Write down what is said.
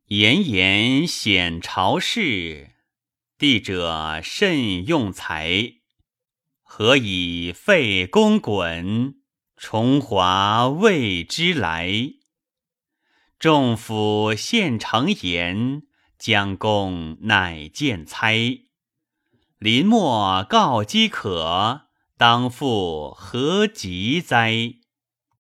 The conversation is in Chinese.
炎炎显朝事，帝者慎用才。何以废公衮，重华谓之来？众府献诚言，将公乃见猜。临末告饥渴，当复何及哉？